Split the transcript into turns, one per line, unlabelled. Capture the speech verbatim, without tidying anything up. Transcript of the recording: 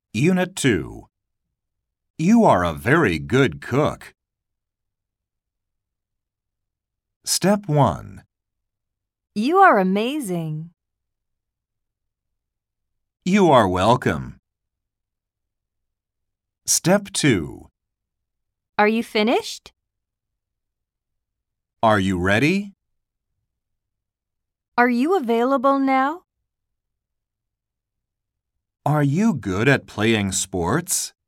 Unit two. You are a very good cook. Step one.
You are amazing.
You are welcome. Step two.
Are you finished?
Are you ready?
Are you available now?
Are you good at playing sports?